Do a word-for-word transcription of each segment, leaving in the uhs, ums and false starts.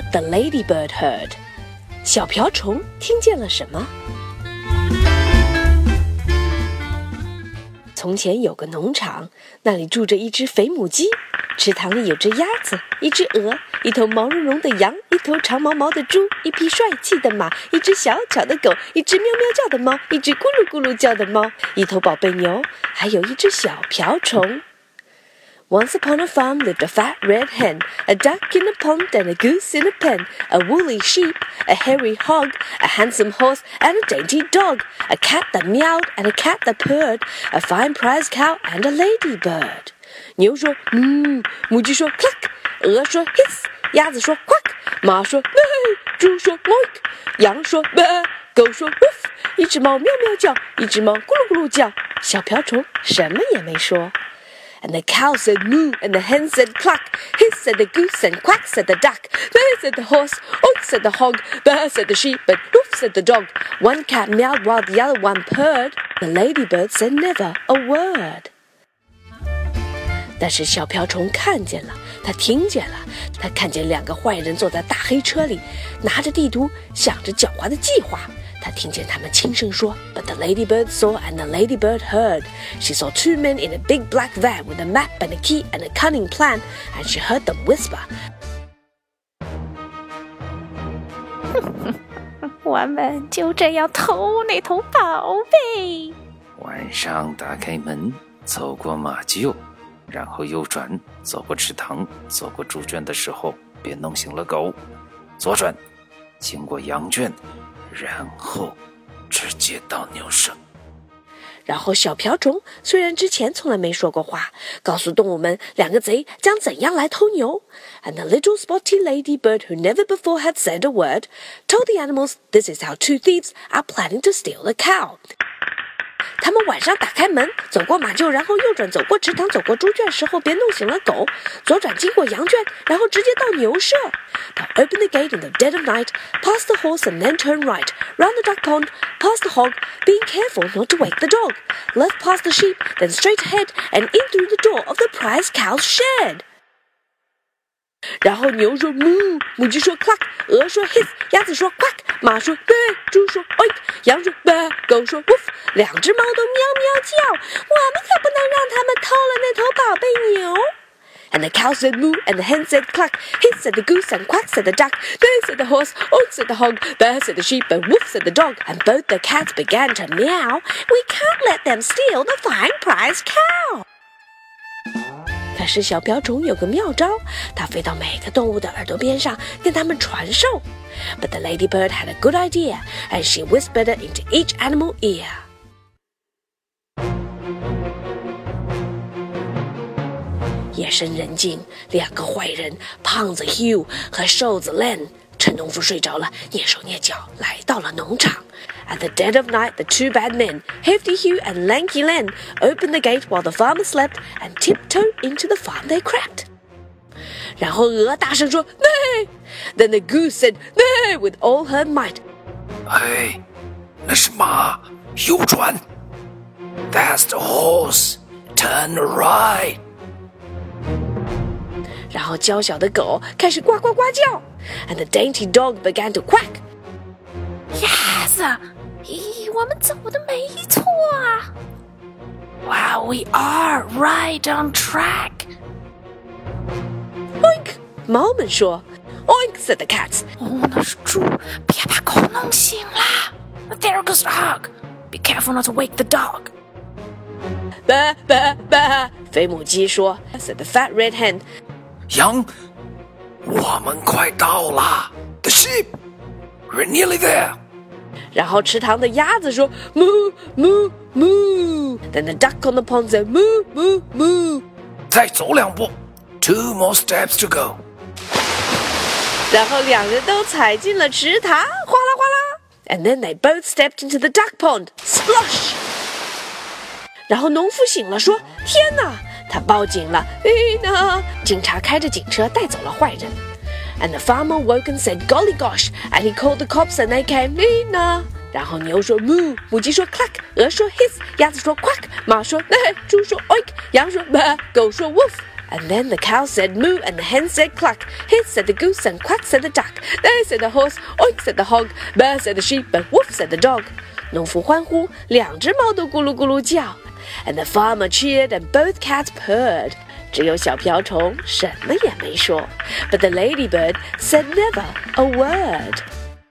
the ladybird heard. 小瓢虫听见了什么？从前有个农场，那里住着一只肥母鸡，池塘里有只鸭子，一只鹅，一头毛茸茸的羊，一头长毛毛的猪，一匹帅气的马，一只小巧的狗，一只喵喵叫的猫，一只咕噜咕噜叫的猫，一头宝贝牛，还有一只小瓢虫。Once upon a farm lived a fat red hen, a duck in a pond and a goose in a pen, a woolly sheep, a hairy hog, a handsome horse and a dainty dog, a cat that meowed and a cat that purred, a fine prize cow and a ladybird. 牛说嗯，母鸡说 cluck， 鹅说 hiss， 鸭子说 quack， 马说 bay， 猪说 oink， 羊说 bah， 狗说 woof， 一只猫喵喵叫，一只猫咕噜咕噜叫，小瓢虫什么也没说。And the cow said moo, and the hen said cluck, hiss said the goose, and quack said the duck, bay said the horse, oink said the hog, bah said the sheep, and woof said the dog. One cat meowed while the other one purred. The ladybird said never a word. 但是小瓢虫看见了，他听见了，他看见两个坏人坐在大黑车里，拿着地图，想着狡猾的计划。他听见他们轻声说 But the ladybird saw and the ladybird heard. She saw two men in a big black van with a map and a key and a cunning plan, and she heard them whisper. 我们就这样偷那头宝贝。 晚上打开门，走过马厩，然后右转，走过池塘，走过猪圈的时候，别弄醒了狗。左转，经过羊圈，然后直接到牛舍。 然后小瓢虫虽然之前从来没说过话，告诉动物们两个贼将怎样来偷牛。And the little spotty ladybird, who never before had said a word, told the animals this is how two thieves are planning to steal the cow. 他们晚上打开门，走过马厩，然后右转，走过池塘，走过猪圈时候别弄醒了狗，左转经过羊圈，然后直接到牛舍。They'll open the gate in the dead of night, pass the horse and then turn right, round the duck pond, past the hog, being careful not to wake the dog, left past the sheep, then straight ahead and in through the door of the prize cow's shed. 然后牛说 moo， 母鸡说 cluck， 鹅说 hiss， 鸭子说 quack， 马说 bay， 猪说 oink， 羊说 bah， 狗说 woof， 两只猫都喵喵叫，我们可不能让他们偷了那头宝贝牛。And the cow said moo, and the hen said cluck, hiss said the goose, and quack said the duck, bay said the horse, oink said the hog, bah said the sheep, and woof said the dog, and both the cats began to meow. We can't let them steal the fine prize cow. 可是小瓢虫有个妙招，它飞到每个动物的耳朵边上，跟它们传授。But the ladybird had a good idea, and she whispered it into each animal ear. 夜深人静，两个坏人胖子 Hugh 和瘦子 Len 趁农夫睡着了，蹑手蹑脚来到了农场。At the dead of night, the two bad men, Hefty Hugh and Lanky Len, opened the gate while the farmer slept and tiptoed into the farm they crept. 然后鹅大声说 Nay! Then the goose said Nay with all her might. 哎，那是马，右转。That's the horse. Turn right. 然后娇小的狗开始呱呱呱叫 ，and the dainty dog began to quack. Yes, 咦，我们走的没错啊。Wow, we are right on track. Oink! 猫们说 ，Oink! said the cats. 哦，那是猪，别把狗弄醒啦。There goes the hog. Be careful not to wake the dog. 吧吧吧！肥母鸡说 ，said the fat red hen. 羊，我们快到了。The sheep, we're nearly there. 然后池塘的鸭子说 moo moo moo. Then the duck on the pond said moo moo moo. 再走两步 ，two more steps to go. 然后两人都踩进了池塘，哗啦哗啦。And then they both stepped into the duck pond. Splosh. 然后农夫醒了，说：“天哪！”他报警了。咦呢？警察开着警车带走了坏人。And the farmer woke and said, "Golly gosh!" And he called the cops, and they came. 咦呢？然后牛说 moo， 母鸡说 cluck， 鹅说 hiss， 鸭子说 quack， 马说 nah， 猪说 oink， 羊说 bah， 狗说 woof。 And then the cow said moo, and the hen said cluck. Hiss said the goose, and quack said the duck. There said the horse, oink said the hog. Bear said the sheep, and woof said the dog. 农夫欢呼，两只猫都咕噜咕噜叫。And the farmer cheered, and both cats purred. 只有小瓢虫什么也没说。But the ladybird said never a word.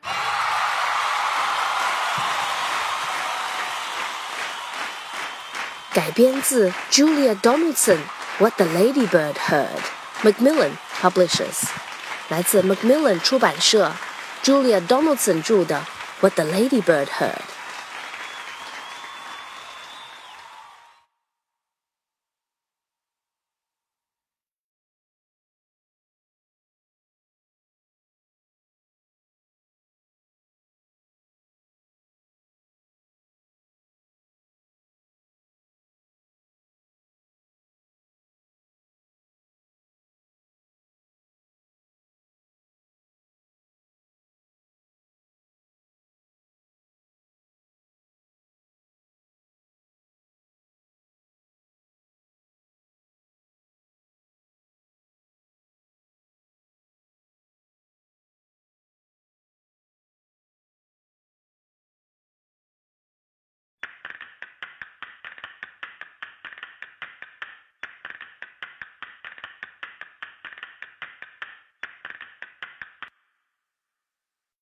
改编自 Julia Donaldson What the Ladybird Heard, Macmillan Publishers. 来自 Macmillan 出版社 Julia Donaldson 著的 What the Ladybird Heard.